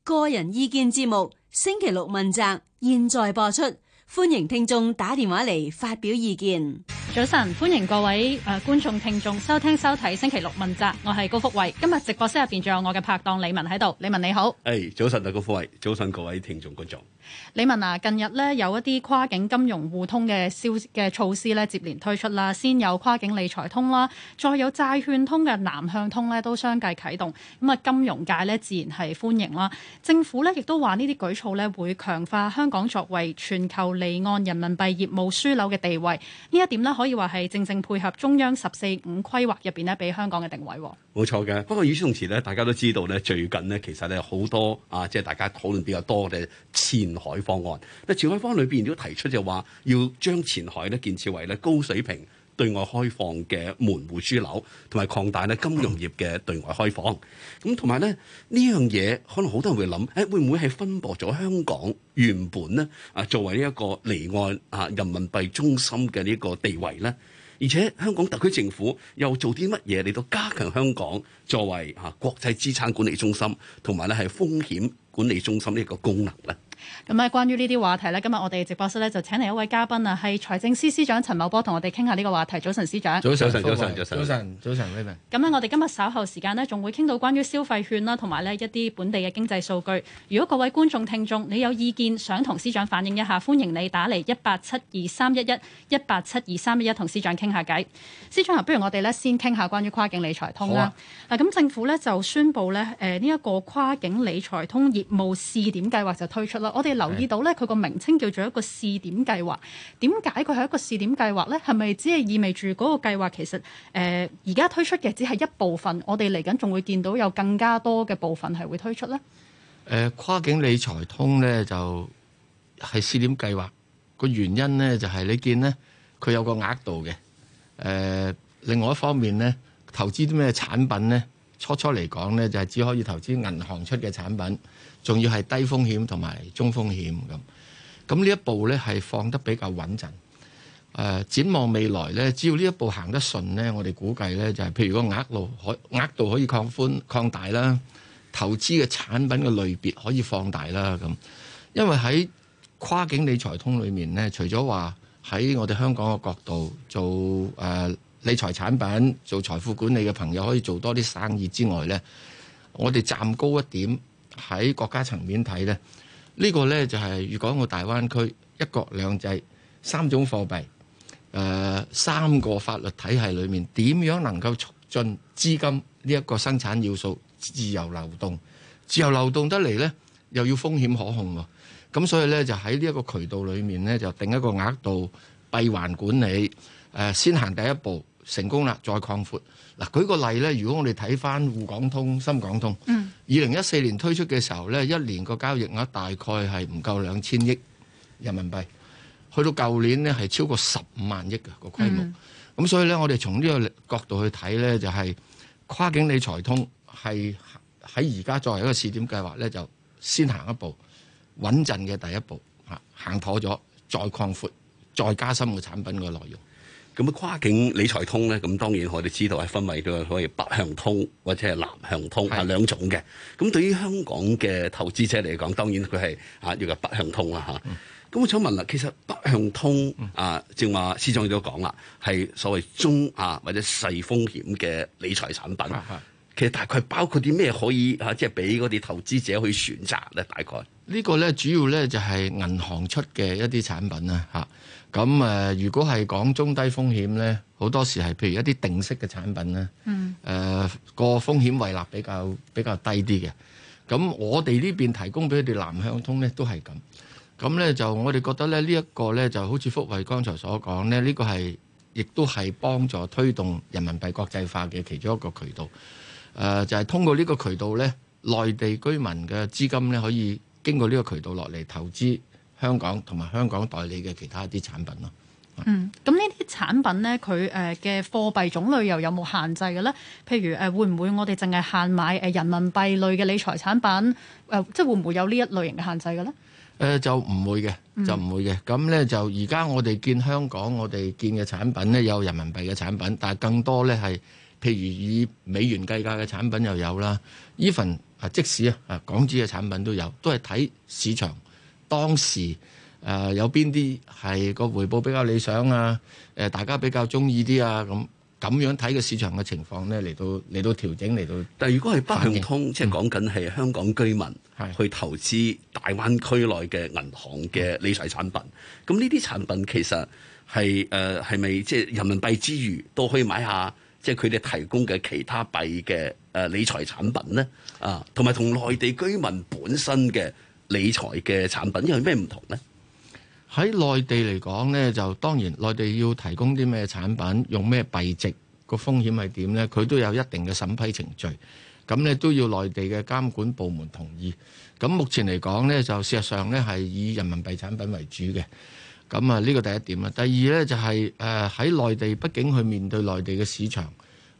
個人意見節目星期六問責，現在播出，歡迎聽眾打電話嚟發表意見。 早晨，歡迎各位觀眾聽眾收聽收睇星期六問責，我係高福慧。今日直播室入邊仲有我嘅拍檔李文喺度。李文你好。 早晨啊，高福慧，早晨各位聽眾觀眾。 李文啊，近日咧有一啲跨境金融互通嘅措施咧接連推出啦，先有跨境理財通啦，再有債券通嘅南向通咧都相繼啟動。咁啊，金融界咧自然係歡迎啦。政府咧亦都話呢啲舉措咧會強化香港作為全球離岸人民幣業務樞紐嘅地位。呢一點咧可以話係正正配合中央14-5規劃入邊咧俾香港嘅定位。 冇錯嘅。不過與此同時咧，大家都知道咧，最近呢其實咧好多即係大家討論比較多嘅前海方案。前海方案裏邊都提出就話要將前海咧建設為咧高水平對外開放嘅門戶樞紐，同埋擴大咧金融業嘅對外開放。咁同埋咧呢樣嘢，可能好多人會諗，會唔會係分薄咗香港原本咧作為呢一個離岸人民幣中心嘅呢個地位咧？而且香港特區政府又做啲乜嘢嚟到加強香港作為國際資產管理中心同埋咧係風險管理中心呢個功能咧？ 咁啊，關於呢啲話題咧，今日我哋直播室咧就請嚟一位嘉賓啊，係財政司司長陳茂波同我哋傾下呢個話題。早晨，司長。 早晨， 咁咧，我哋今日稍後時間呢，仲會傾到關於消費券啦，同埋呢一啲本地嘅經濟數據。如果各位觀眾聽眾你有意見想同司長反映一下，歡迎你打嚟1872311同司長傾下偈。司長啊，不如我哋咧先傾下關於跨境理財通啦。咁政府咧就宣布咧呢一個跨境理財通業務試點計劃就推出啦。我哋留意到咧，佢個名稱叫做一個試點計劃。點解佢係一個試點計劃咧？係咪只係意味住嗰個計劃其實而家推出嘅只係一部分？我哋嚟緊仲會見到有更加多嘅部分係會推出咧？ 跨境理財通咧就係試點計劃。個原因咧就係你見咧佢有個額度嘅。另外一方面咧，投資啲咩產品咧？初嚟講咧就係只可以投資銀行出嘅產品。仲要係低風險同埋中風險咁呢一步咧係放得比較穩陣。展望未來咧，只要呢一步行得順咧，我哋估計咧就係譬如個額度可以擴大啦，投資嘅產品嘅類別可以放大啦咁。因為喺跨境理財通裏面咧，除咗話喺我哋香港嘅角度做理財產品、做財富管理嘅朋友可以做多啲生意之外咧，我哋站高一點。喺國家層面睇咧，呢個咧就係粵港澳大灣區一國兩制3種貨幣3個法律體系裏面，點樣能夠促進資金呢一個生產要素自由流動？自由流動得嚟咧，又要風險可控喎。咁所以咧就喺呢一個渠道裏面咧，就定一個額度閉環管理，先行第一步成功啦，再擴闊。嗱，舉個例咧，如果我哋睇翻滬港通、深港通，2014年推出嘅時候咧，一年個交易額大概係唔夠2000億人民幣，去到舊年呢係超過15萬億嘅個規模。咁所以咧，我哋從呢個角度去睇咧，就係跨境理財通係喺而家作為一個試點計劃咧，就先行一步，穩陣嘅第一步，行妥咗，再擴闊，再加深個產品嘅內容。 咁跨境理財通咧，咁當然我哋知道係分為咗可以北向通或者係南向通兩種嘅。咁對於香港嘅投資者嚟講，當然佢係要嘅北向通啦嚇。咁我想問啦，其實北向通正話司長亦都講啦，係所謂中或者細風險嘅理財產品。其實大概包括啲咩可以即係俾嗰啲投資者去選擇咧？大概呢個咧主要咧就係銀行出嘅一啲產品啦嚇。咁如果係講中低風險咧，好多時係譬如一啲定息嘅產品咧，個風險胃納比較低啲嘅。咁我哋呢邊提供俾佢哋南向通咧都係咁。咁咧就我哋覺得咧呢一個咧就好似福慧剛才所講咧，呢個係亦都係幫助推動人民幣國際化嘅其中一個渠道。就係通過呢個渠道咧，內地居民嘅資金咧可以經過呢個渠道落嚟投資香港同埋香港代理嘅其他一啲產品咯。 咁呢啲產品咧，佢嘅貨幣種類又有冇限制嘅咧？譬如會唔會我哋淨係限買人民幣類嘅理財產品？即係會唔會有呢一類型嘅限制嘅咧？ 就唔會嘅，就唔會嘅。咁咧就而家我哋見香港我哋見嘅產品咧有人民幣嘅產品，但係更多咧係譬如以美元計價嘅產品又有啦，even即使港紙嘅產品都有，都係睇市場當時有邊啲係個回報比較理想啊，大家比較中意啲啊，咁樣睇個市場嘅情況咧，嚟到調整嚟到。 但係如果係北向通，即係講緊係香港居民去投資大灣區內嘅銀行嘅理財產品，咁呢啲產品其實係咪即係人民幣之餘都可以買下即係佢哋提供嘅其他幣嘅理財產品咧？同埋同內地居民本身嘅理財嘅產品有咩唔同咧？ 喺內地嚟講咧，就當然內地要提供啲咩產品，用咩幣值，個風險係點咧？佢都有一定嘅審批程序，咁咧都要內地嘅監管部門同意。咁目前嚟講咧，就事實上咧係以人民幣產品為主嘅。咁呢個第一點啦。第二咧就係喺內地，畢竟去面對內地嘅市場，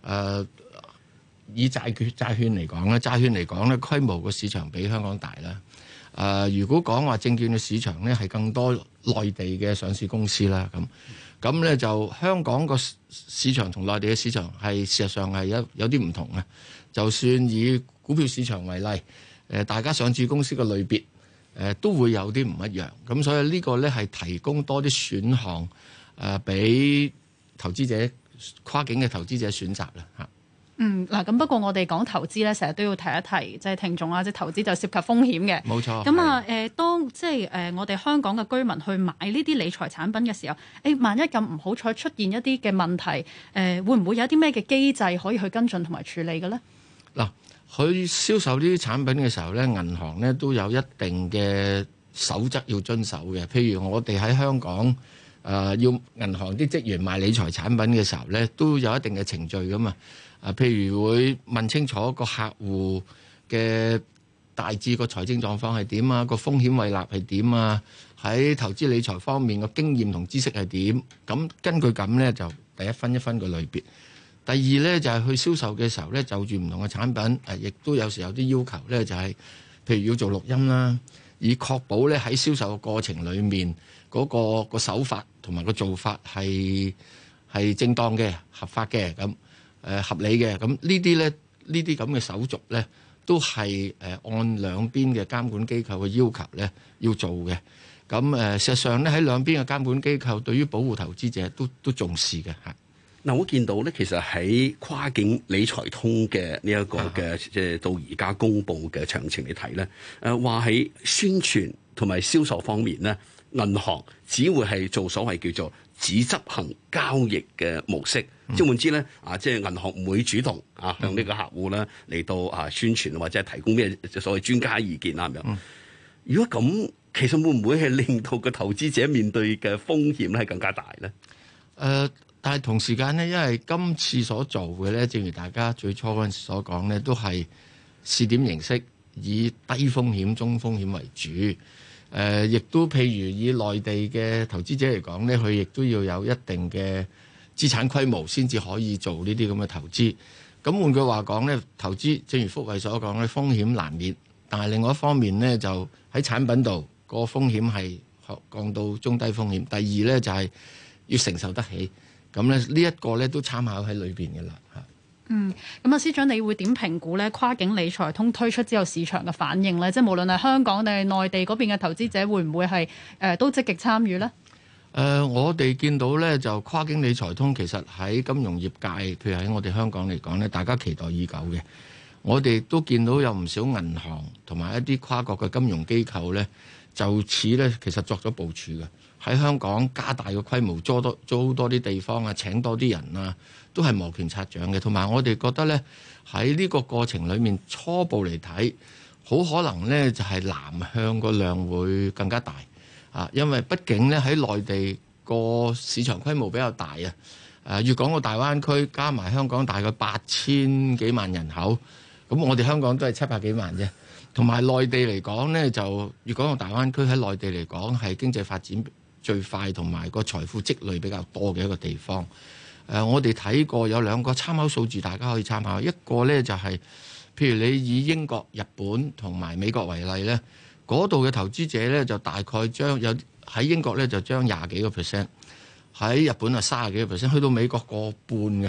以債券嚟講咧，債券嚟講咧規模個市場比香港大啦。如果講話證券嘅市場咧，係更多內地嘅上市公司啦，咁咧就香港個市場同內地嘅市場係事實上係有啲唔同嘅。就算以股票市場為例，大家上市公司嘅類別都會有啲唔一樣。咁所以呢個咧係提供多啲選項俾投資者，跨境嘅投資者選擇啦嚇。 嗱，咁不過我哋講投資咧，成日都要提一提，即係聽眾啦，即係投資就涉及風險嘅。冇錯。咁當即係我哋香港嘅居民去買呢啲理財產品嘅時候，萬一咁唔好彩出現一啲嘅問題，會唔會有啲咩嘅機制可以去跟進同埋處理嘅咧？嗱， 佢銷售呢啲產品嘅時候咧，銀行咧都有一定嘅守則要遵守嘅。譬如我哋喺香港要銀行啲職員賣理財產品嘅時候咧，都有一定嘅程序噶嘛。譬如會問清楚個客戶嘅大致個財政狀況係點啊，個風險胃納係點啊，喺投資理財方面個經驗同知識係點。咁根據咁咧，就第一分一分個類別。第二咧就係去銷售嘅時候咧，就住唔同嘅產品，亦都有時有啲要求咧，就係譬如要做錄音啦，以確保咧喺銷售嘅過程裡面嗰個手法同埋個做法係正當嘅、合法嘅咁。合理嘅。咁呢啲咧，呢啲咁嘅手續咧，都係按兩邊嘅監管機構嘅要求咧要做嘅。咁事實上咧，喺兩邊嘅監管機構對於保護投資者都重視嘅嚇。 嗱，我見到咧，其實喺跨境理財通嘅呢一個嘅即係到而家公佈嘅詳情嚟睇咧，話喺宣傳同埋銷售方面咧，銀行只會係做所謂叫做只執行交易嘅模式。即係換之咧，即係銀行唔會主動向呢個客戶咧嚟到宣傳或者係提供咩所謂專家意見啦咁樣。如果咁，其實會唔會係令到個投資者面對嘅風險咧係更加大咧？ 但係同時間咧，因為今次所做嘅咧，正如大家最初嗰陣時所講咧，都係試點形式，以低風險、中風險為主。亦都譬如以內地嘅投資者嚟講咧，佢亦都要有一定嘅資產規模先至可以做呢啲咁嘅投資。咁換句話講咧，投資正如福慧所講咧，風險難免。但係另外一方面咧，就喺產品度個風險係降到中低風險。第二咧就係要承受得起。咁咧呢一個咧都參考喺裏邊嘅啦嚇。 咁司長，你會點評估咧跨境理財通推出之後市場嘅反應咧？即係無論係香港定係內地嗰邊嘅投資者，會唔會係都積極參與咧？ 我哋見到咧就跨境理財通其實喺金融業界，譬如喺我哋香港嚟講咧，大家期待已久嘅。我哋都見到有唔少銀行同埋一啲跨國嘅金融機構咧，就此咧其實作咗部署嘅。喺香港加大個規模，租多啲地方啊，請多啲人啊，都係摩拳擦掌嘅。同埋我哋覺得咧，喺呢個過程裡面初步嚟睇，好可能咧就係南向個量會更加大啊，因為畢竟咧喺內地個市場規模比較大啊。粵港澳大灣區加埋香港大概8000幾萬人口，咁我哋香港都係700幾萬啫。同埋內地嚟講咧，就粵港澳大灣區喺內地嚟講係經濟發展最快同埋個財富積累比較多嘅一個地方。我哋睇過有兩個參考數字，大家可以參考。一個呢就係，譬如你以英國、日本同埋美國為例呢，嗰度嘅投資者呢就大概將有喺英國呢就將20幾個%，喺日本啊30幾個%，去到美國過半嘅，佢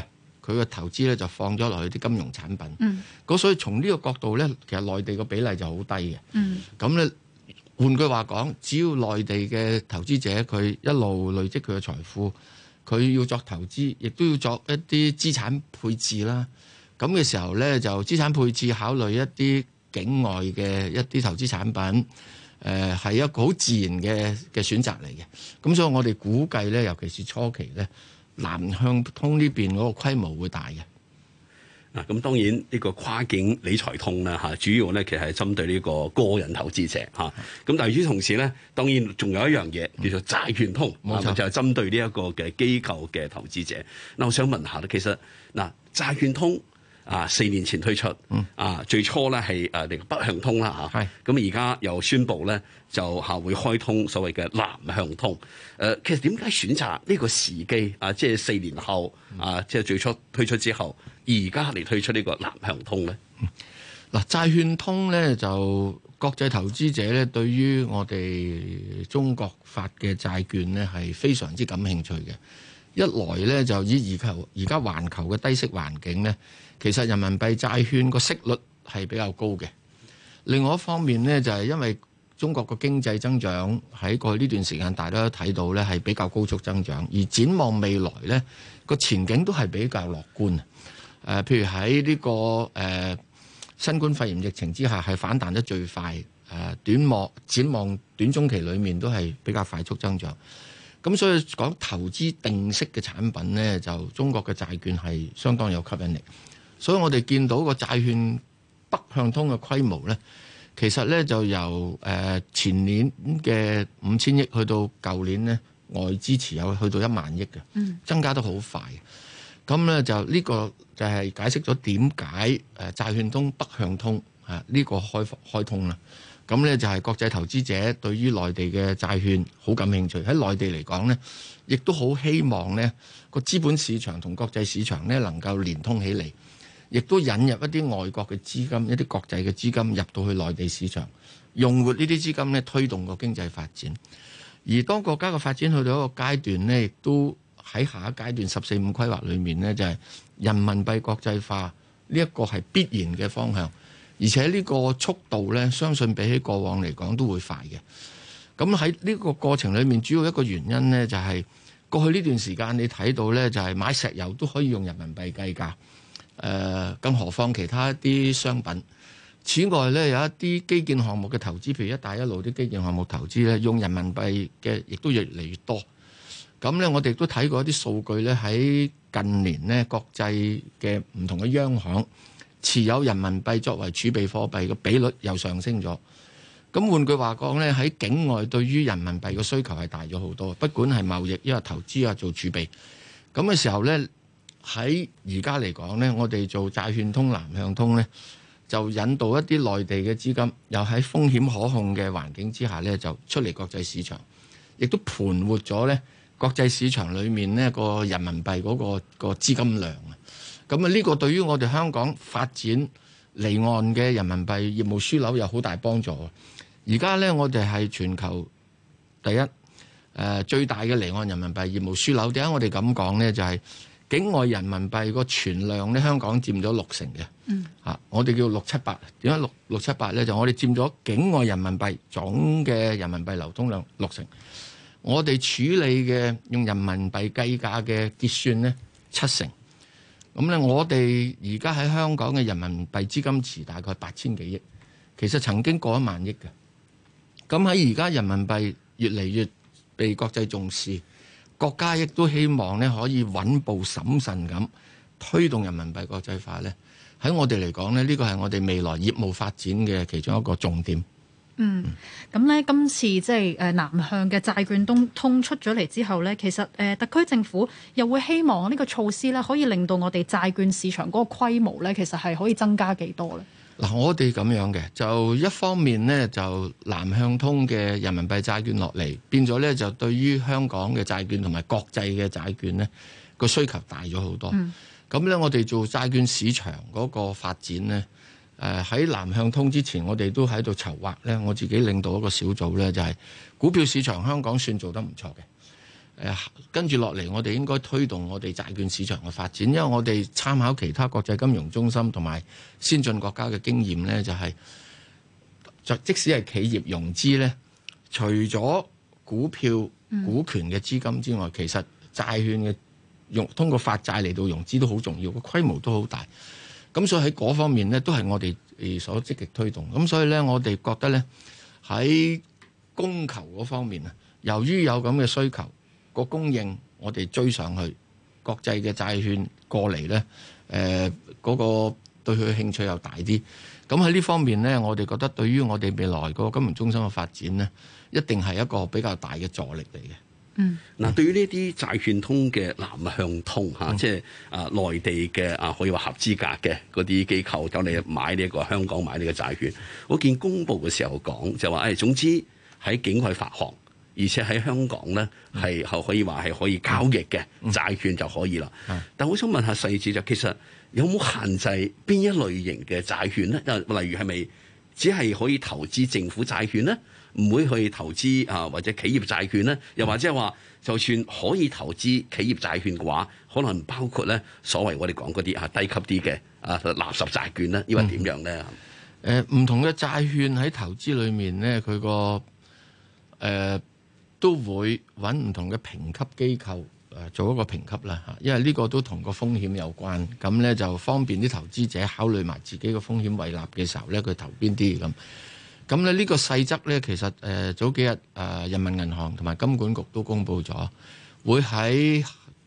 佢嘅投資咧就放咗落去啲金融產品。咁所以從呢個角度咧，其實內地個比例就好低嘅。咁咧換句話講，只要內地嘅投資者佢一路累積佢嘅財富，佢要作投資，亦都要作一啲資產配置啦。咁嘅時候咧，就資產配置考慮一啲境外嘅一啲投資產品，係一個好自然嘅選擇嚟嘅。咁所以我哋估計咧，尤其是初期咧，南向通呢邊嗰個規模會大嘅。 嗱，咁當然呢個跨境理財通啦嚇，主要咧其實係針對呢個個人投資者嚇。咁但係與此同時咧，當然仲有一樣嘢叫做債券通， 冇錯， 就係針對呢一個嘅機構嘅投資者。嗱，我想問下咧，其實嗱債券通4年前推出，最初咧係呢個北向通啦嚇，咁而家又宣布咧就會開通所謂嘅南向通。其實點解選擇呢個時機即係4年後即係最初推出之後，而家嚟推出呢個南向通咧？ 嗱，債券通咧就國際投資者咧對於我哋中國發嘅債券咧係非常之感興趣嘅。一來咧就以而家環球嘅低息環境咧，其實人民幣債券個息率係比較高嘅。另外一方面咧就係因為中國個經濟增長喺過去呢段時間大家都睇到咧係比較高速增長，而展望未來咧個前景都係比較樂觀。譬如喺呢個新冠肺炎疫情之下係反彈得最快，展望短中期裏面都係比較快速增長。咁所以講投資定息嘅產品咧，就中國嘅債券係相當有吸引力。所以我哋見到個債券北向通嘅規模咧，其實咧就由前年嘅5000億去到舊年咧外資持有去到1萬億嘅，增加得好快。咁咧就呢個就係解釋咗點解債券通北向通呢個開通啦。咁咧就係國際投資者對於內地嘅債券好感興趣。喺內地嚟講咧，亦都好希望咧個資本市場同國際市場咧能夠連通起嚟，亦都引入一啲外國嘅資金、一啲國際嘅資金入到去內地市場，用活呢啲資金咧推動個經濟發展。而當國家嘅發展去到一個階段咧，亦都喺下一階段14、5規劃裏面咧，就係人民幣國際化呢一個係必然嘅方向。而且呢個速度咧，相信比起過往嚟講都會快嘅。咁喺呢個過程裏面，主要一個原因咧就係過去呢段時間你睇到咧，就係買石油都可以用人民幣計價，更何況其他一啲商品。此外咧，有一啲基建項目嘅投資，譬如一帶一路啲基建項目投資咧，用人民幣嘅亦都越嚟越多。咁咧，我哋亦都睇過一啲數據咧，喺近年咧，國際嘅唔同嘅央行持有人民幣作為儲備貨幣嘅比率又上升咗。咁換句話講咧，喺境外對於人民幣嘅需求係大咗好多，不管係貿易，因為投資啊做儲備。咁嘅時候咧，喺而家嚟講咧，我哋做債券通南向通咧，就引導一啲內地嘅資金，又喺風險可控嘅環境之下咧，就出嚟國際市場，亦都盤活咗咧國際市場裏面呢個人民幣嗰個資金量啊。咁啊，呢個對於我哋香港發展離岸嘅人民幣業務樞紐有好大幫助。而家咧，我哋係全球第一最大嘅離岸人民幣業務樞紐。點解我哋咁講咧？就係境外人民幣個存量咧，香港佔咗60%嘅。我哋叫678。點解678咧？就我哋佔咗境外人民幣總嘅人民幣流通量60%。我哋處理嘅用人民幣計價嘅結算咧70%。咁咧，我哋而家喺香港嘅人民幣資金池大概8000幾億，其實曾經過1萬億嘅。咁喺而家人民幣越嚟越被國際重視，國家亦都希望咧可以穩步審慎咁推動人民幣國際化咧。喺我哋嚟講咧，呢個係我哋未來業務發展嘅其中一個重點。 咁咧，今次即係南向嘅債券通出咗嚟之後咧，其實特區政府又會希望呢個措施咧，可以令到我哋債券市場嗰個規模咧，其實係可以增加幾多咧？ 嗱，我哋咁樣嘅，就一方面咧，就南向通嘅人民幣債券落嚟，變咗咧就對於香港嘅債券同埋國際嘅債券咧個需求大咗好多。咁咧，我哋做債券市場嗰個發展咧。喺南向通之前，我哋都喺度籌劃咧。我自己領導一個小組咧，就係股票市場香港算做得唔錯跟住落嚟，我哋應該推動我哋債券市場嘅發展，因為我哋參考其他國際金融中心同埋先進國家嘅經驗呢，即使係企業融資呢，除咗股票、股權嘅資金之外，其實債券嘅通過發債嚟到融資都好重要，個規模都好大。咁所以喺嗰方面呢，都係我哋所積極推動。咁所以呢，我哋覺得呢，喺供求嗰方面啊，由於有咁嘅需求，個供應我哋追上去，國際嘅債券過嚟呢，嗰個對佢嘅興趣又大啲。咁喺呢方面呢，我哋覺得對於我哋未來個金融中心嘅發展呢，一定係一個比較大嘅助力嚟嘅。 嗱，對於呢啲債券通嘅南向通嚇，即係內地嘅可以話合資格嘅嗰啲機構走嚟買呢個香港買呢個債券，我見公佈嘅時候講就話總之喺境外發行，而且喺香港咧係可以話係可以交易嘅債券就可以啦。但我想問下細節其實有冇限制邊一類型嘅債券咧？例如係咪只係可以投資政府債券咧？唔會去投資或者企業債券咧？又或者係話就算可以投資企業債券嘅話，可能包括咧所謂我哋講嗰啲低級啲嘅垃圾債券咧，抑或點樣咧？ 唔同嘅債券喺投資裏面咧，佢個都會揾唔同嘅評級機構做一個評級啦嚇，因為呢個都同個風險有關，咁咧就方便啲投資者考慮埋自己個風險胃納嘅時候咧，佢投邊啲咁。咁咧呢個細則咧，其實早幾日人民銀行同埋金管局都公布咗，會喺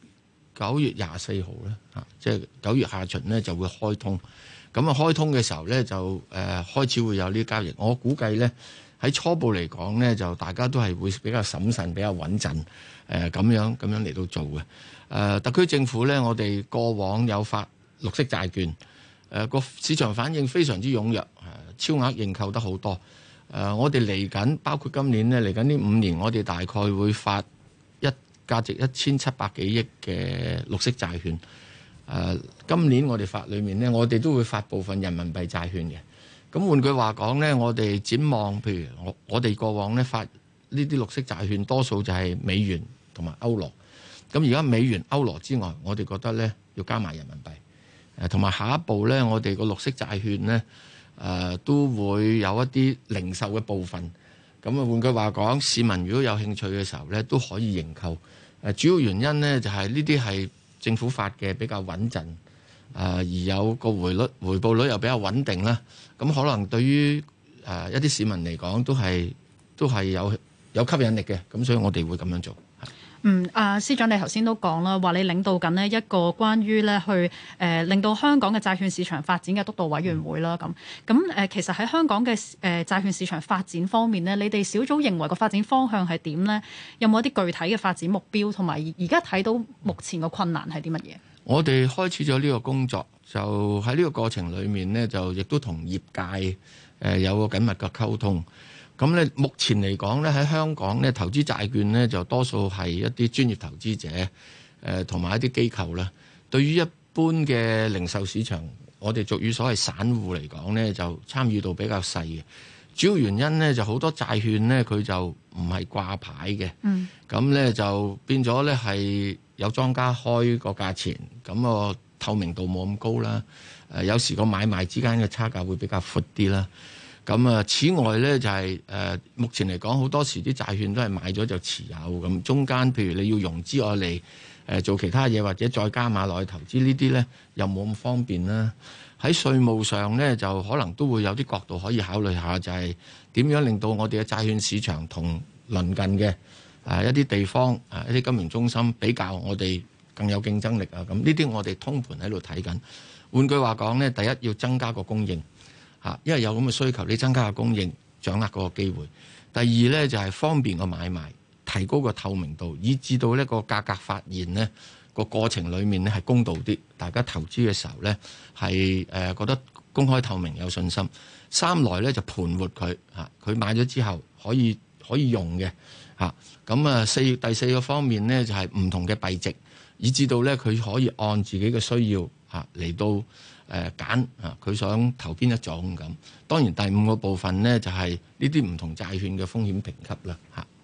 9月24號咧嚇，即係9月下旬咧就會開通。咁開通嘅時候咧就開始會有呢啲交易。我估計咧喺初步嚟講咧，就大家都係會比較審慎、比較穩陣咁樣嚟到做嘅。特區政府咧，我哋過往有發綠色債券，個市場反應非常之踴躍，超額認購得好多。我哋嚟緊，包括今年咧嚟緊呢5年，我哋大概會發價值1700幾億嘅綠色債券。今年我哋發裏面咧，我哋都會發部分人民幣債券嘅。咁換句話講咧，我哋展望，譬如我哋過往咧發呢啲綠色債券，多數就係美元同埋歐羅。咁而家美元、歐羅之外，我哋覺得咧要加埋人民幣。同埋下一步咧，我哋個綠色債券咧。都會有一啲零售嘅部分，咁換句話講，市民如果有興趣嘅時候咧，都可以認購。主要原因咧就係呢啲係政府發嘅比較穩陣，而有個回報率又比較穩定啦。咁可能對於一啲市民嚟講都係有吸引力嘅，咁所以我哋會咁樣做。 司長你頭先都講啦，話你領導緊呢一個關於咧去令到香港嘅債券市場發展嘅督導委員會啦。咁其實喺香港嘅債券市場發展方面呢，你哋小組認為個發展方向係點呢？有冇一啲具體嘅發展目標，同埋而家睇到目前個困難係啲乜嘢？我哋開始咗呢個工作，就喺呢個過程裡面呢，就亦都同業界有個緊密嘅溝通。咁咧，目前嚟講咧，喺香港咧，投資債券咧就多數係一啲專業投資者，同埋一啲機構啦。對於一般嘅零售市場，我哋俗語所謂散戶嚟講咧，就參與度比較細嘅。主要原因咧就好多債券咧，佢就唔係掛牌嘅。咁咧就變咗咧係有莊家開個價錢，咁個透明度冇咁高啦。有時個買賣之間嘅差價會比較闊啲啦。咁此外咧就係目前嚟講，好多時啲債券都係買咗就持有咁，中間譬如你要融資我嚟做其他嘢，或者再加碼落去投資呢啲咧，又冇咁方便啦。喺稅務上咧，就可能都會有啲角度可以考慮下，就係點樣令到我哋嘅債券市場同鄰近嘅一啲地方一啲金融中心比較，我哋更有競爭力啊！咁呢啲我哋通盤喺度睇緊。換句話講咧，第一要增加個供應。因為有咁嘅需求，你增加個供應，掌握嗰個機會。第二呢，就係方便個買賣，提高個透明度，以至到呢個價格發現呢個過程裡面呢係公道啲，大家投資嘅時候呢係覺得公開透明有信心。三來呢，就盤活佢佢買咗之後可以用嘅咁第四個方面呢，就係唔同嘅幣值，以至到呢佢可以按自己嘅需要嚟到。揀佢想投邊一種咁。當然第五個部分呢，就係呢啲唔同債券嘅風險評級啦嚇。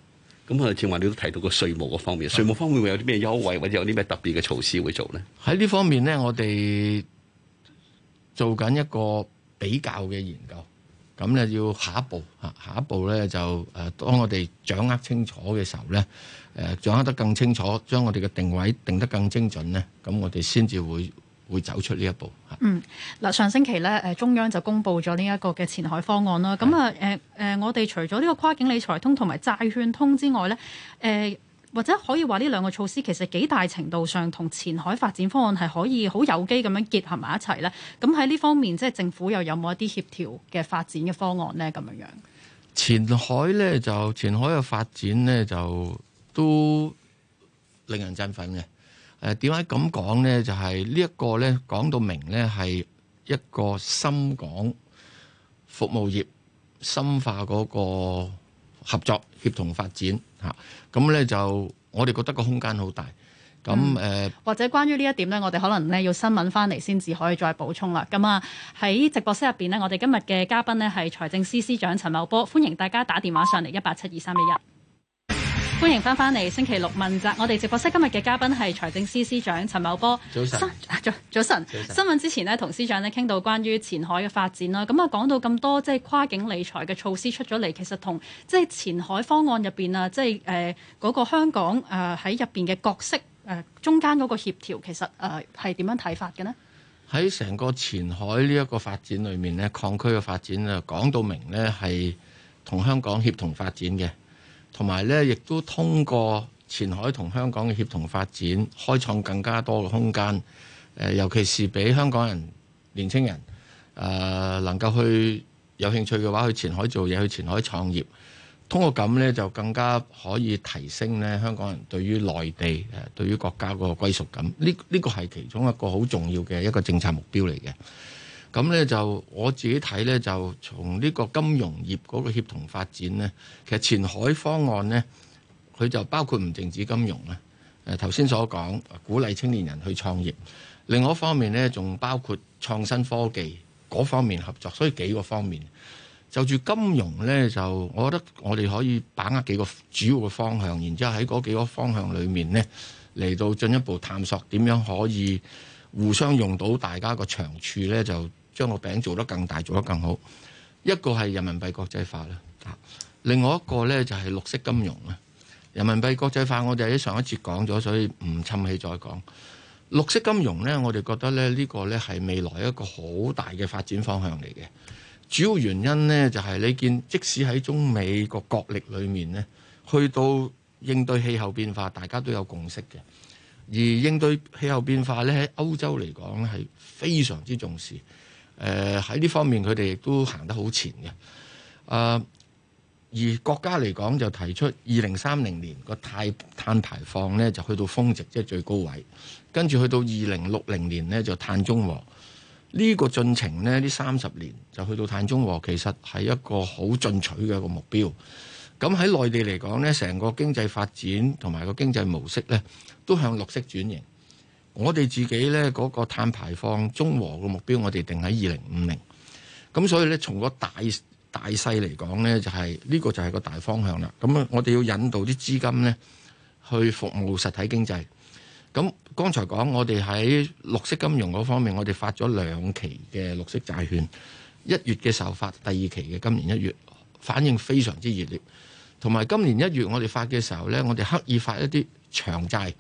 咁啊，正話你都提到個稅務嗰方面，稅務方面會有啲咩優惠，或者有啲咩特別嘅措施會做咧？ 喺呢方面呢，我哋做緊一個比較嘅研究，咁咧要下一步咧就當我哋掌握清楚嘅時候咧，掌握得更清楚，將我哋嘅定位定得更精準咧，咁我哋先至會走出呢一步。 嗱，上星期咧，中央就公布咗呢一個嘅前海方案啦。咁我哋除咗呢個跨境理財通同埋債券通之外咧，或者可以話呢兩個措施其實幾大程度上同前海發展方案係可以好有機咁樣結合埋一齊咧。咁喺呢方面，即係政府又有冇一啲協調嘅發展嘅方案咧？咁樣前海嘅發展咧就都令人振奮嘅。點解咁講呢？就係呢一個咧講到明咧係一個深港服務業深化嗰個合作協同發展嚇。咁咧就我哋覺得個空間好大。咁或者關於呢一點咧，我哋可能咧要新聞翻嚟先至可以再補充啦。咁啊喺直播室入邊呢，我哋今日嘅嘉賓呢係財政司司長陳茂波，歡迎大家打電話上嚟1872311。歡迎翻嚟星期六問責，我哋直播室今日嘅嘉賓係財政司司長陳茂波。 早晨。 新聞之前呢，同司長呢傾到關於前海嘅發展啦。咁啊講到咁多即係跨境理財嘅措施出咗嚟，其實同即係前海方案入邊啊，即係嗰個香港喺入邊嘅角色中間嗰個協調，其實係點樣睇法嘅呢？ 喺成個前海呢一個發展裏面呢，礦區嘅發展啊，講到明呢係同香港協同發展嘅。同埋咧，亦都通過前海同香港嘅協同發展，開創更加多嘅空間。尤其是俾香港人、年青人能夠去有興趣嘅話，去前海做嘢，去前海創業。通過咁咧，就更加可以提升咧香港人對於內地對於國家嗰個歸屬感。呢個係其中一個好重要嘅一個政策目標嚟嘅。咁咧就我自己睇咧，就從呢個金融業嗰個協同發展咧，其實前海方案咧，佢就包括唔淨止金融啦。頭先所講鼓勵青年人去創業，另外一方面咧，仲包括創新科技嗰方面合作，所以幾個方面。就住金融咧，就我覺得我哋可以把握幾個主要嘅方向，然之後喺嗰幾個方向裏面咧，嚟到進一步探索點樣可以互相用到大家個長處咧，就將個餅做得更大，做得更好。一個係人民幣國際化啦，另外一個咧就係綠色金融啦。人民幣國際化我哋喺上一節講咗，所以唔侵氣再講。綠色金融咧，我哋覺得咧呢個咧係未來一個好大嘅發展方向嚟嘅。主要原因咧就係你見，即使喺中美個角力裏面咧，去到應對氣候變化，大家都有共識嘅。而應對氣候變化咧，喺歐洲嚟講咧係非常之重視。喺呢方面佢哋亦都行得好前嘅。而國家嚟講就提出2030年個碳排放咧就去到峰值，即係最高位。跟住去到2060年咧就碳中和。呢個進程咧，呢30年就去到碳中和，其實係一個好進取嘅一個目標。咁喺內地嚟講咧，成個經濟發展同埋個經濟模式咧，都向綠色轉型。我哋自己咧嗰個碳排放中和嘅目標，我哋定喺2050。咁所以咧，從個大勢嚟講咧，就係呢個就係個大方向啦。咁我哋要引導啲資金咧去服務實體經濟。咁剛才講我哋喺綠色金融嗰方面，我哋發咗2期嘅綠色債券，1月嘅時候發，第2期嘅今年1月，反應非常之熱烈。同埋今年1月我哋發嘅時候咧，我哋刻意發一啲長債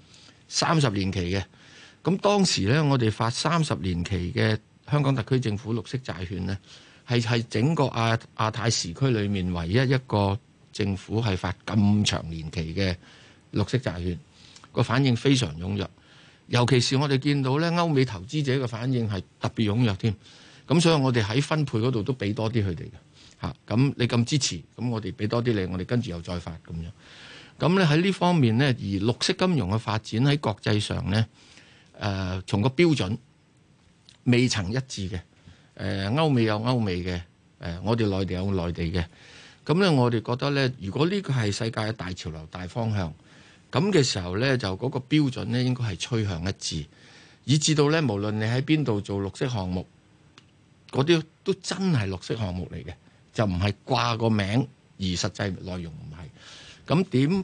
30年期嘅。咁當時咧，我哋發30年期嘅香港特區政府綠色債券咧，係整個亞太時區裏面唯一一個政府係發咁長年期嘅綠色債券。個反應非常踴躍，尤其是我哋見到咧歐美投資者嘅反應係特別踴躍添。咁所以我哋喺分配嗰度都俾多啲佢哋嘅嚇。咁你咁支持，咁我哋俾多啲你，我哋跟住又再發咁樣。咁咧喺呢方面咧，而綠色金融嘅發展喺國際上咧，從個標準未曾一致嘅。歐美有歐美嘅，我哋內地有內地嘅。咁咧我哋覺得咧，如果呢個係世界嘅大潮流、大方向。咁嘅時候咧，就嗰個標準咧應該係趨向一致，以至到咧無論你喺邊度做綠色項目，嗰啲都真係綠色項目嚟嘅，就唔係掛個名而實際內容唔係。咁點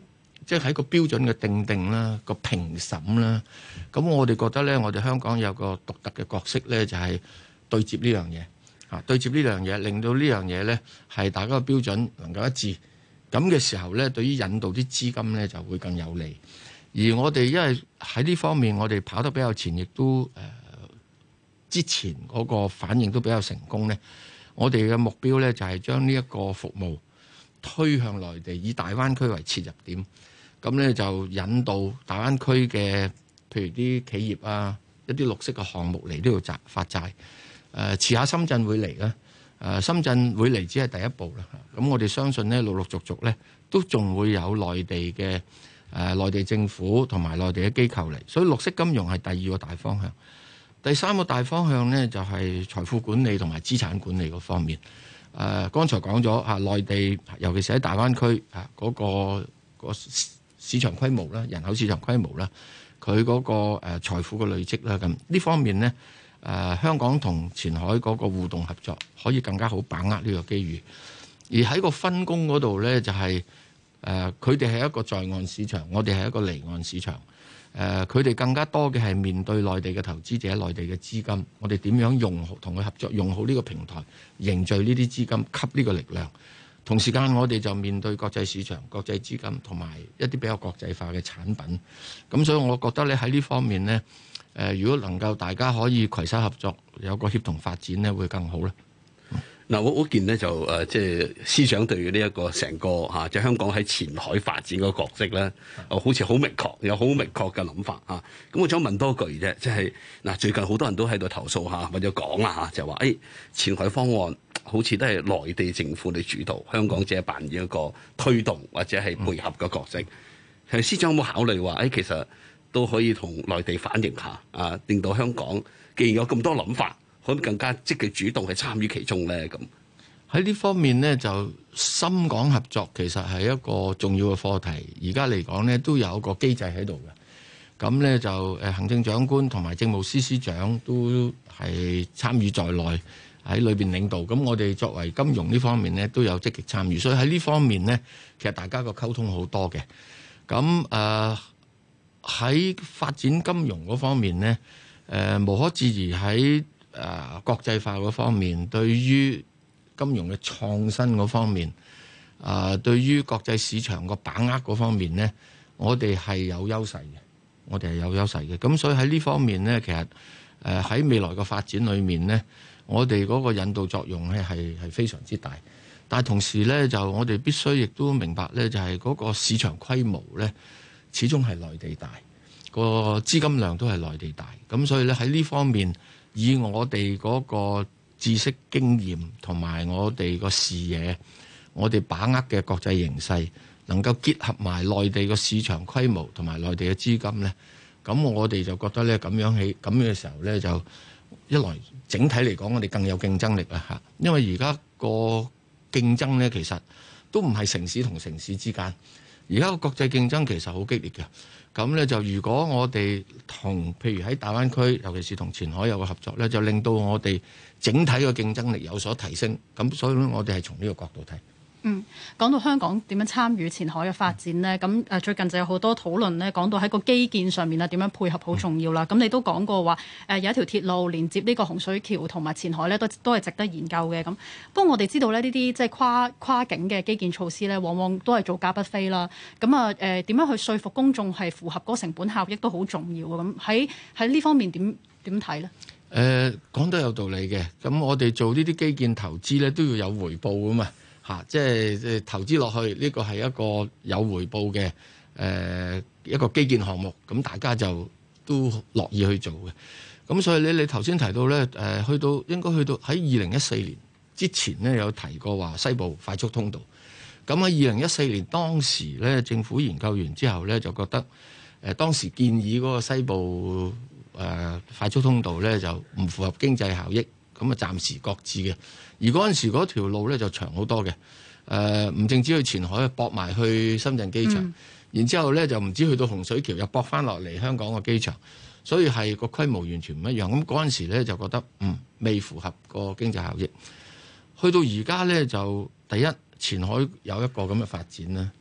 即係喺個標準嘅定啦、個評審啦。咁我哋覺得咧，我哋香港有個獨特嘅角色咧，就係對接呢樣嘢嚇，對接呢樣嘢，令到呢樣嘢咧係大家嘅標準能夠一致。咁嘅時候咧，對於引導啲資金咧就會更有利。而我哋因為喺呢方面，我哋跑得比較前，亦都之前嗰個反應都比較成功咧。我哋嘅目標咧就係將呢一個服務推向內地，以大灣區為切入點。咁咧就引導大灣區嘅，譬如啲企業啊，一啲綠色嘅項目嚟呢度發債。遲下深圳會嚟啦。深圳會嚟只係第一步啦。咁我哋相信咧，陸陸續續咧都仲會有內地嘅內地政府同埋內地嘅機構嚟。所以綠色金融係第二個大方向。第三個大方向咧就係財富管理同埋資產管理嗰方面。剛才講咗嚇，內地尤其是喺大灣區嗰個市場規模啦、人口市場規模啦、佢嗰個財富嘅累積啦，咁呢方面咧香港同前海嗰個互動合作可以更加好把握呢個機遇。而喺個分工嗰度咧就係佢哋係一個在岸市場，我哋係一個離岸市場。佢哋更加多嘅係面對內地嘅投資者、內地嘅資金，我哋點樣用好同佢合作，用好呢個平台，凝聚呢啲資金，吸呢個力量。同時間我哋就面對國際市場、國際資金同埋一啲比較國際化嘅產品。咁所以我覺得咧喺呢方面呢，如果能夠大家可以攜手合作，有個協同發展呢，會更好啦。 嗱，我見咧就即係司長對呢一個成個即係香港喺前海發展嗰個角色咧，好似好明確，有好明確嘅諗法嚇。咁我想問多句啫，即係嗱，最近好多人都喺度投訴或者講啦就話前海方案好似都係內地政府嚟主導，香港只係扮演一個推動或者係配合嘅角色。係司長有冇考慮話其實都可以同內地反映下令到香港既然有咁多諗法，可以更加積極主動去參與其中咧？咁喺呢方面呢，就深港合作其實係一個重要嘅課題。而家嚟講呢，都有一個機制喺度嘅。咁呢，就行政長官同埋政務司司長都係參與在內喺裏邊領導。咁我哋作為金融呢方面呢，都有積極參與。所以喺呢方面呢，其實大家個溝通好多嘅。咁喺發展金融嗰方面呢，無可置疑喺國際化嗰方面，對於金融嘅創新嗰方面，對於國際市場個把握嗰方面呢，我哋係有優勢嘅。咁所以喺呢方面呢，其實喺未來嘅發展裏面呢，我哋嗰個引導作用呢係非常之大。但係同時呢，就我哋必須亦都明白呢，就係嗰個市場規模呢，始終係內地大，個資金量都係內地大。咁所以呢，喺呢方面，以我哋嗰個知識經驗同埋我哋個視野，我哋把握嘅國際形勢，能夠結合埋內地個市場規模同埋內地嘅資金呢，咁我哋就覺得呢，咁樣嘅時候呢，就一來整體嚟講，我哋更有競爭力啦嚇。因為而家個競爭呢，其實都唔係城市同城市之間，而家個國際競爭其實好激烈嘅。咁呢，就如果我哋同譬如喺大灣區，尤其是同前海有個合作呢，就令到我哋整體嘅競爭力有所提升。咁所以我哋係從呢個角度睇。 講到香港點樣參與前海嘅發展呢？咁最近就有好多討論呢，講到喺個基建上面點樣配合好重要啦。咁你都講過話有一條鐵路連接呢個洪水橋同埋前海呢，都係值得研究嘅。咁不過我哋知道呢啲即係跨境嘅基建措施呢，往往都係造價不菲啦。咁點樣去說服公眾係符合嗰個成本效益都好重要啊。咁喺呢方面點睇呢？ 講得有道理嘅。咁我哋做呢啲基建投資呢，都要有回報㗎嘛。即係投資落去呢個係一個有回報嘅一個基建項目，咁大家就都樂意去做嘅。咁所以你頭先提到呢，應該去到喺2014年之前呢，有提過話西部快速通道。咁喺2014年當時呢，政府研究完之後呢，就覺得當時建議嗰個西部快速通道呢，就唔符合經濟效益。咁啊，暫時擱置嘅。而嗰陣時嗰條路咧就長好多嘅，唔淨止去前海，駁埋去深圳機場，然之後咧就唔止去到洪水橋，又駁翻落嚟香港個機場，所以係個規模完全唔一樣。咁嗰陣時咧就覺得未符合個經濟效益。去到而家咧就第一，前海有一個咁嘅發展啦。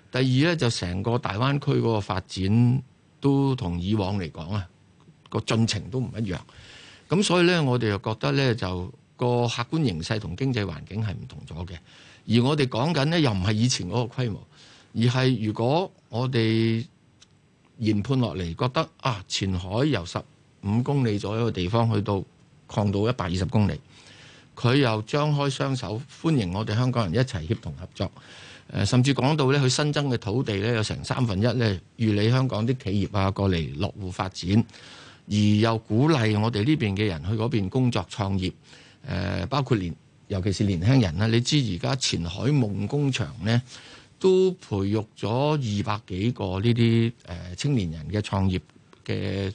第二咧就成個大灣區嗰個發展都同以往嚟講啊個進程都唔一樣，咁所以咧我哋又覺得咧就個客觀形勢同經濟環境係唔同咗嘅，而我哋講緊咧又唔係以前嗰個規模，而係如果我哋研判落嚟覺得啊前海由15公里左右嘅地方去到擴到120公里，佢又張開雙手歡迎我哋香港人一齊協同合作。甚至講到咧，佢新增嘅土地咧有成1/3咧，預理香港啲企業啊過嚟落戶發展，而又鼓勵我哋呢邊嘅人去嗰邊工作創業。包括尤其是年輕人啦，你知而家前海夢工場咧都培育咗200幾個呢啲青年人嘅創業嘅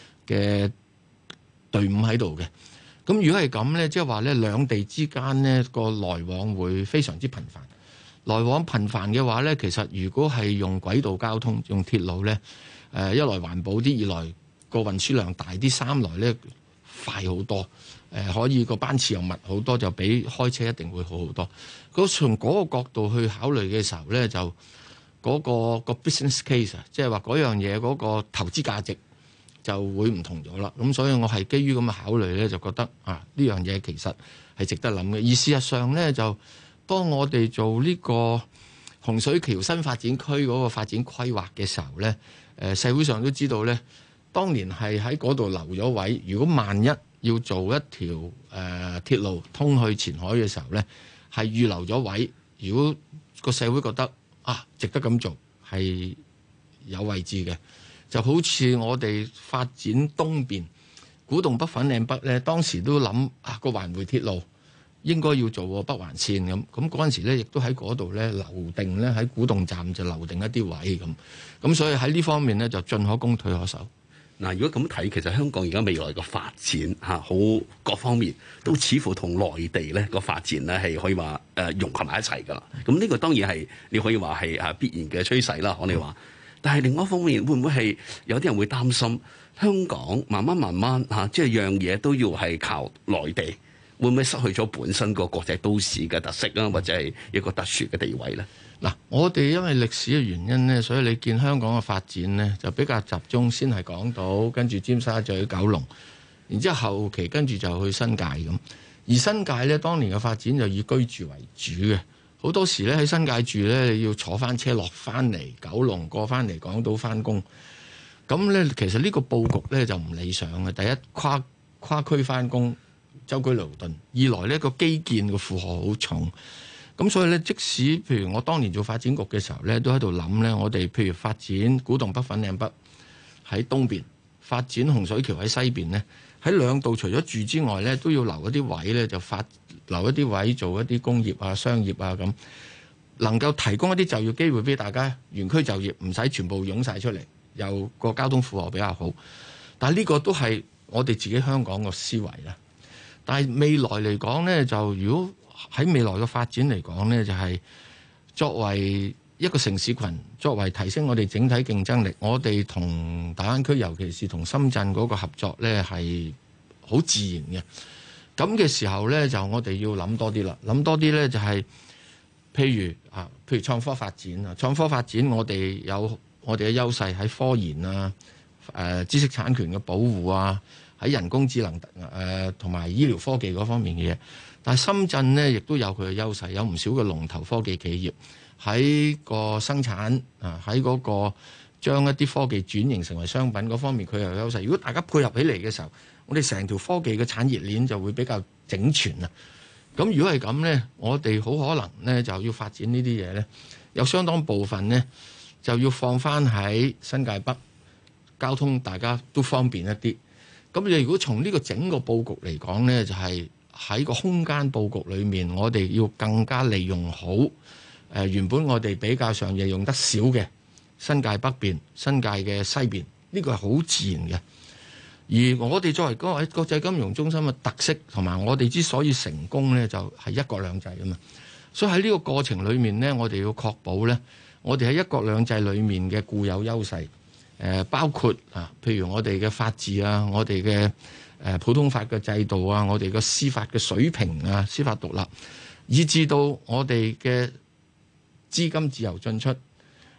隊伍喺度嘅。咁如果係咁咧，即係話咧兩地之間呢個來往會非常之頻繁。來往頻繁嘅話咧，其實如果係用軌道交通、用鐵路咧，一來環保啲，二來個運輸量大啲，三來咧快好多，可以個班次又密好多，就比開車一定會好好多。從嗰個角度去考慮嘅時候咧，就嗰個 business case 啊，即係話嗰樣嘢嗰個投資價值就會唔同咗啦。咁所以我係基於咁嘅考慮咧，就覺得啊呢樣嘢其實係值得諗嘅。而事實上咧就當我哋做呢個洪水橋新發展區嗰個發展規劃嘅時候呢，社會上都知道呢，當年係喺嗰度留咗位。如果萬一要做一條鐵路通去前海嘅時候呢，係預留咗位。如果個社會覺得值得咁做，係有位置嘅，就好似我哋發展東邊古洞北粉嶺北呢，當時都諗個環迴鐵路應該要做北環線咁嗰陣時咧，亦都喺嗰度咧留定咧喺古洞站就留定一啲位咁所以喺呢方面咧就進可攻退可守。 嗱，如果咁睇，其實香港而家未來嘅發展好各方面都似乎同內地咧個發展咧係可以話融合埋一齊㗎啦。咁呢個當然係你可以話係必然嘅趨勢啦，我哋話。但係另外一方面，會唔會係有啲人會擔心香港慢慢即係樣嘢都要係靠內地？會唔會失去咗本身個國際都市嘅特色啊，或者係一個特殊嘅地位呢？ 嗱，我哋因為歷史嘅原因呢，所以你見香港嘅發展呢，就比較集中，先係港島，跟住尖沙咀、九龍，然之後後期跟住就去新界咁。而新界呢，當年嘅發展就以居住為主嘅，好多時咧喺新界住呢，你要坐翻車落翻嚟九龍，過翻嚟港島翻工。咁呢，其實呢個佈局呢，就唔理想嘅。第一，跨區翻工，舟車勞頓；二來呢個基建嘅負荷好重，咁所以呢，即使譬如我當年做發展局嘅時候呢，都喺度諗呢，我哋譬如發展古洞北、粉嶺北喺東邊，發展洪水橋喺西邊呢，喺兩度除咗住之外呢，都要留一啲位呢，就留一啲位做一啲工業啊、商業啊咁，能夠提供一啲就業機會俾大家，原區就業，唔使全部湧晒出嚟，又個交通負荷比較好。但係呢個都係我哋自己香港個思維啦。但係未來嚟講呢，就如果喺未來嘅發展嚟講呢，就係作為一個城市群，作為提升我哋整體競爭力，我哋同大灣區，尤其是同深圳嗰個合作呢，係好自然嘅。咁嘅時候呢，就我哋要諗多啲啦，諗多啲呢，就係譬如創科發展啊，創科發展我哋有我哋嘅優勢喺科研啊、知識產權嘅保護啊，喺人工智能同埋醫療科技嗰方面嘅嘢。但係深圳呢，亦都有佢嘅優勢，有唔少嘅龍頭科技企業喺個生產啊，喺嗰個將一啲科技轉型成為商品嗰方面，佢又有優勢。如果大家配合起嚟嘅時候，我哋成條科技嘅產業鏈就會比較整全啊。咁如果係咁呢，我哋好可能呢就要發展呢啲嘢呢，有相當部分呢就要放翻喺新界北，交通大家都方便一啲。咁你如果從呢個整個佈局嚟講呢，就係喺個空間佈局裏面，我哋要更加利用好原本我哋比較上嘢用得少嘅新界北邊、新界嘅西邊，呢個係好自然嘅。而我哋作為嗰個國際金融中心嘅特色，同埋我哋之所以成功呢，就係一國兩制啊嘛。所以喺呢個過程裏面呢，我哋要確保呢，我哋喺一國兩制裏面嘅固有優勢，包括譬如我哋嘅法治啊，我哋嘅普通法嘅制度啊，我哋嘅司法嘅水平啊，司法獨立，以至到我哋嘅資金自由進出，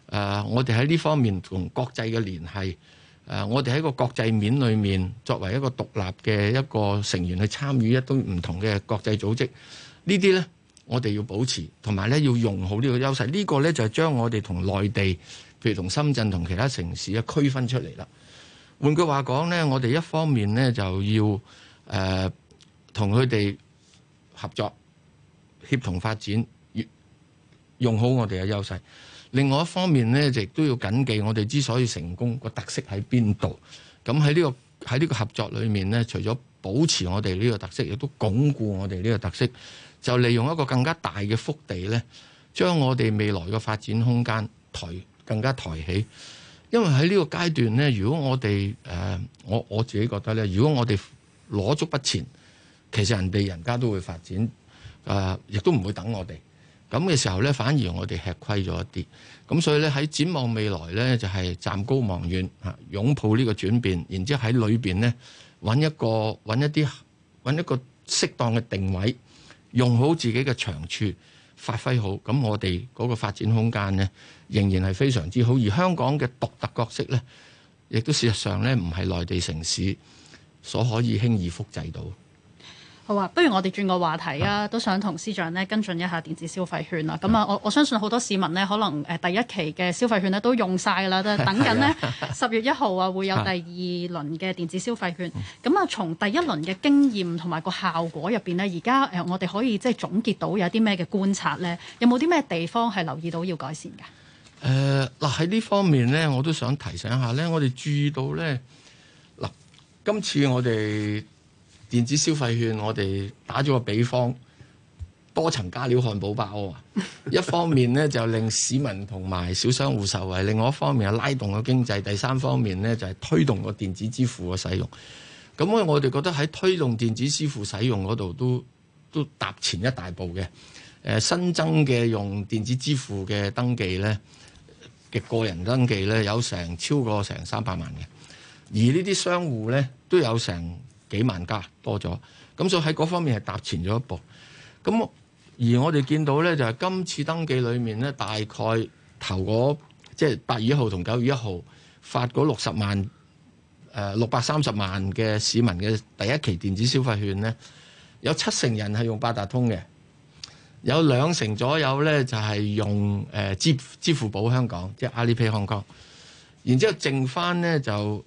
我哋喺呢方面同國際嘅聯繫，我哋喺個國際面裏面作為一個獨立嘅一個成員去參與一堆唔同嘅國際組織，呢啲呢，我哋要保持，同埋呢要用好呢個優勢。呢個呢，就係將我哋同內地，譬如同深圳同其他城市啊區分出嚟啦。換句話講呢，我哋一方面呢就要同佢哋合作協同發展，用好我哋嘅優勢。另外一方面呢，亦都要緊記我哋之所以成功個特色喺邊度。咁喺呢個合作裏面呢，除咗保持我哋呢個特色，亦都鞏固我哋呢個特色，就利用一個更加大嘅腹地呢，將我哋未來嘅發展空間更加抬起。因為喺呢個階段呢，如果我哋我自己覺得呢，如果我哋攞足不前，其實人家都會發展，亦都唔會等我哋。咁嘅時候呢，反而我哋吃虧咗一啲。咁所以呢，喺展望未來呢，就係站高望遠嚇，擁抱呢個轉變，然之後喺裏邊呢，揾一個適當嘅定位，用好自己嘅長處，發揮好。咁我哋嗰個發展空間呢，仍然係非常之好。而香港嘅獨特角色呢，亦都事實上呢，唔係內地城市所可以輕易複製到。 好啊，不如我哋轉個話題啊，都想同司長呢跟進一下電子消費券啦。咁啊，我相信好多市民呢，可能第一期嘅消費券呢都用晒㗎啦，都等緊呢10月1號啊會有第二輪嘅電子消費券。咁啊，從第一輪嘅經驗同埋個效果入邊呢，而家我哋可以即係總結到有啲咩嘅觀察呢？有冇啲咩地方係留意到要改善㗎？ 嗱喺呢方面呢，我都想提醒下呢，我哋注意到呢，嗱，今次我哋電子消費券，我哋打咗個比方，多層加料漢堡包啊！一方面呢，就令市民同埋小商戶受惠，另外一方面係拉動個經濟，第三方面呢，就係推動個電子支付嘅使用。咁我哋覺得喺推動電子支付使用嗰度都踏前一大步嘅。新增嘅用電子支付嘅登記呢，嘅個人登記呢，有超過300萬嘅，而呢啲商戶呢，都有成幾萬家多咗，咁所以喺嗰方面係踏前咗一步。咁而我哋見到呢，就係今次登記裏面呢，大概頭嗰即係8月1號同9月1號發嗰630萬嘅市民嘅第一期電子消費券呢，有70%人係用八達通嘅，有20%左右呢就係用支付寶香港，即係 Alipay Hong Kong， 然之後剩翻呢就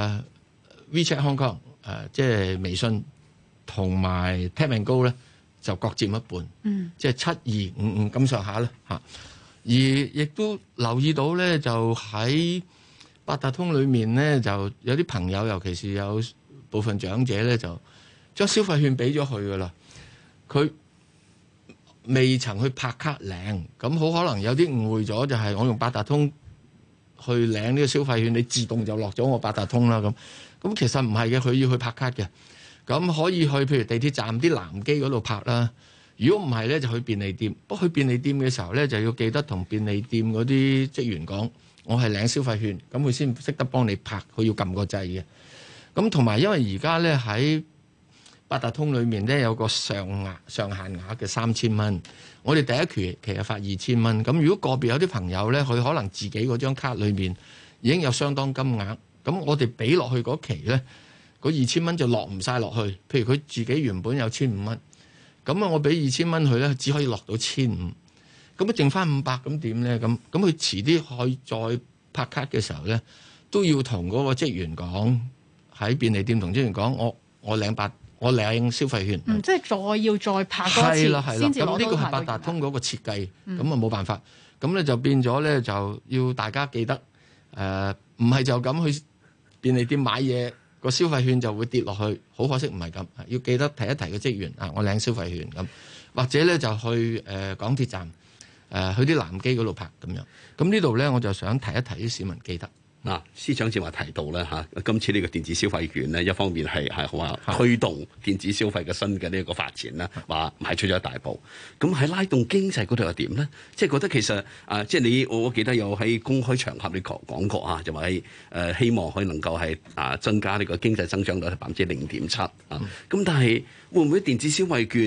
WeChat Hong Kong。即係微信同埋 Tap and Go 咧，就各佔一半，即係7255咁上下啦嚇。而亦都留意到咧，就喺八達通裏面咧，就有啲朋友，尤其是有部分長者咧，就將消費券俾咗佢噶啦。佢未曾去拍卡領，咁好可能有啲誤會咗，就係我用八達通去領呢個消費券，你自動就落咗我八達通啦咁。咁其實唔係嘅，佢要去拍卡嘅。咁可以去譬如地鐵站啲藍機嗰度拍啦。如果唔係咧，就去便利店。不過去便利店嘅時候咧，就要記得同便利店嗰啲職員講，我係領消費券，咁佢先識得幫你拍。佢要撳個掣嘅。咁同埋因為而家咧喺八達通裏面咧有個上限額嘅3000蚊。我哋第一期係發2000蚊。咁如果個別有啲朋友咧，佢可能自己嗰張卡裏面已經有相當金額。咁我哋俾落去嗰期呢，嗰2000蚊就落唔晒落去。譬如佢自己原本有1500蚊，咁我俾2000蚊佢呢，只可以落到1500。咁啊剩翻500，咁點呢？咁佢遲啲可以再拍卡嘅時候呢，都要同嗰個職員講，喺便利店同職員講，我領消費券。 即係再拍多次先至攞到。咁呢個係八達通嗰個設計，咁啊冇辦法。咁咧就變咗呢，就要大家記得，唔係就咁去便利店買嘢，個消費券就會跌落去，好可惜唔係咁，要記得提一提個職員啊，我領消費券咁，或者咧就去港鐵站去啲藍機嗰度拍咁樣。咁呢度咧我就想提一提啲市民記得。 嗱，司長正話提到咧嚇，今次呢個電子消費券咧，一方面係話推動電子消費嘅新嘅呢一個發展啦，話邁出咗一大步。咁喺拉動經濟嗰度又點咧？即係覺得其實即係我記得有喺公開場合你講過啊，就話係希望可以能夠係增加呢個經濟增長率0.7%啊。咁但係會唔會電子消費券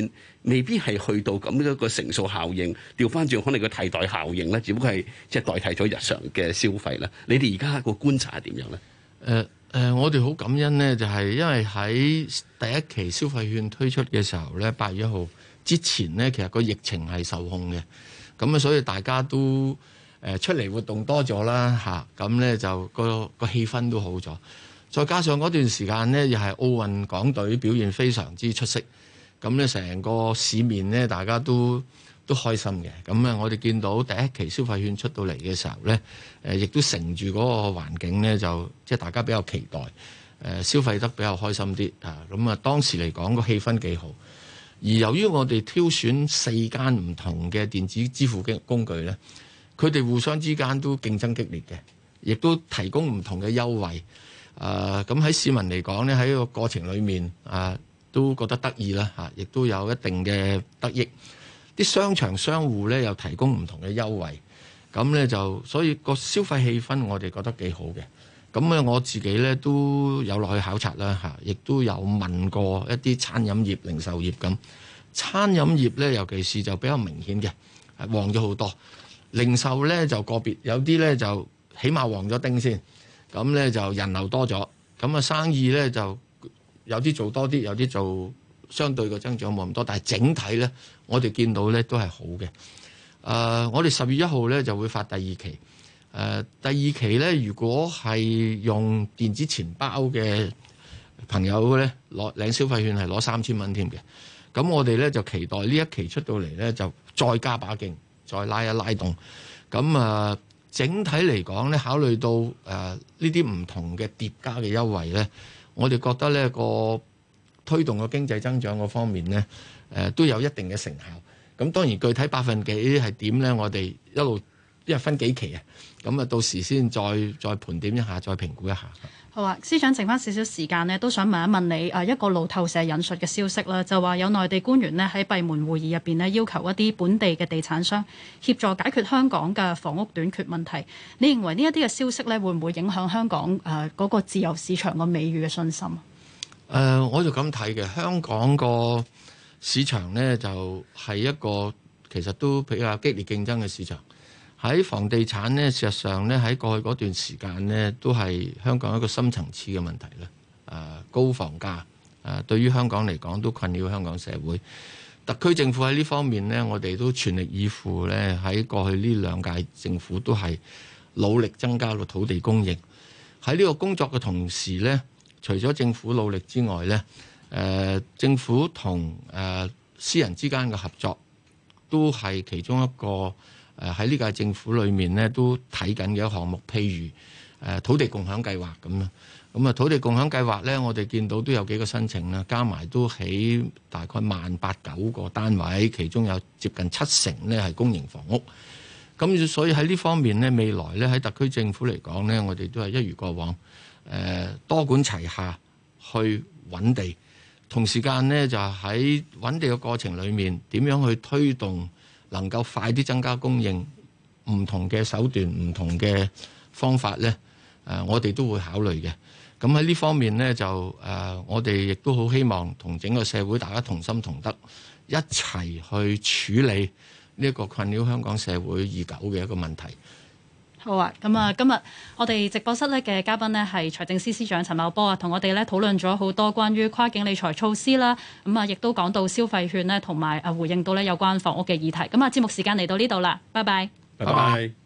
未必係去到咁一個乘數效應，調翻轉可能個替代效應咧，只不過係即係代替咗日常嘅消費啦。你哋而家個觀察係點樣咧？ 我哋好感恩呢，就係因為喺第一期消費券推出嘅時候咧，8月1號之前呢，其實個疫情係受控嘅，咁啊，所以大家都出嚟活動多咗啦嚇，咁咧就個氣氛都好咗。再加上嗰段時間呢，又係奧運港隊表現非常之出色，咁咧成個市面呢，大家都開心嘅。咁啊，我哋見到第一期消費券出到嚟嘅時候咧，亦都乘住嗰個環境咧，就即係大家比較期待，消費得比較開心啲啊。咁啊，當時嚟講個氣氛幾好。而由於我哋挑選4間唔同嘅電子支付工具咧，佢哋互相之間都競爭激烈嘅，亦都提供唔同嘅優惠。咁喺市民嚟講咧，喺個過程裡面都覺得得意啦嚇，亦都有一定嘅得益。啲商場商戶咧又提供唔同嘅優惠，咁咧就所以個消費氣氛我哋覺得幾好嘅。咁咧我自己咧都有落去考察啦嚇，亦都有問過一啲餐飲業、零售業咁。餐飲業咧尤其是就比較明顯嘅，旺咗好多。零售咧就個別有啲咧就起碼旺咗丁先，咁咧就人流多咗，咁啊生意咧就有啲做多啲，有啲做相對嘅增長冇咁多，但係整體咧我哋見到咧都係好嘅。我哋10月1號咧就會發第二期。第二期咧，如果係用電子錢包嘅朋友咧，領消費券係攞3000蚊添嘅。咁我哋咧就期待呢一期出到嚟咧，就再加把勁，再拉一拉動。咁整體嚟講咧，考慮到呢啲唔同嘅疊加嘅優惠咧，我哋覺得呢個推動個經濟增長嗰方面咧，都有一定嘅成效。咁當然具體百分幾係點咧？我哋一路因為分幾期啊，咁到時先再盤點一下，再評估一下。 好啊，司長剩翻少少時間呢，都想問一問你一個路透社引述嘅消息啦，就話有內地官員呢喺閉門會議入邊呢，要求一啲本地嘅地產商協助解決香港嘅房屋短缺問題。你認為呢一啲嘅消息呢，會唔會影響香港嗰個自由市場個美譽嘅信心？ 我就咁睇嘅，香港個市場呢，就係一個其實都比較激烈競爭嘅市場。喺房地產呢，事實上呢，喺過去嗰段時間呢，都係香港一個深層次嘅問題啦。高房價對於香港嚟講都困擾香港社會。特區政府喺呢方面呢，我哋都全力以赴呢，喺過去呢2屆政府都係努力增加個土地供應。喺呢個工作嘅同時呢，除咗政府努力之外呢，政府同私人之間嘅合作都係其中一個喺呢屆政府裏面呢都睇緊嘅一個項目，譬如土地共享計劃咁啦。咁土地共享計劃呢，我哋見到都有幾個申請啦，加埋都起大概18900個單位，其中有接近70%呢係公營房屋。咁所以喺呢方面呢，未來呢喺特區政府嚟講呢，我哋都係一如過往，多管齊下去揾地，同時間呢，就喺揾地嘅過程裏面，點樣去推動能夠快啲增加供應，唔同嘅手段、唔同嘅方法呢，我哋都會考慮嘅。咁喺呢方面呢，就我哋亦都好希望同整個社會大家同心同德，一齊去處理呢一個困擾香港社會已久嘅一個問題。 好啊，咁今日我哋直播室咧嘅嘉賓呢係財政司司長陳茂波啊，同我哋咧討論咗好多關於跨境理財措施啦，亦都講到消費券呢，同埋回應到咧有關房屋嘅議題。咁節目時間嚟到呢度啦，拜拜。 拜拜。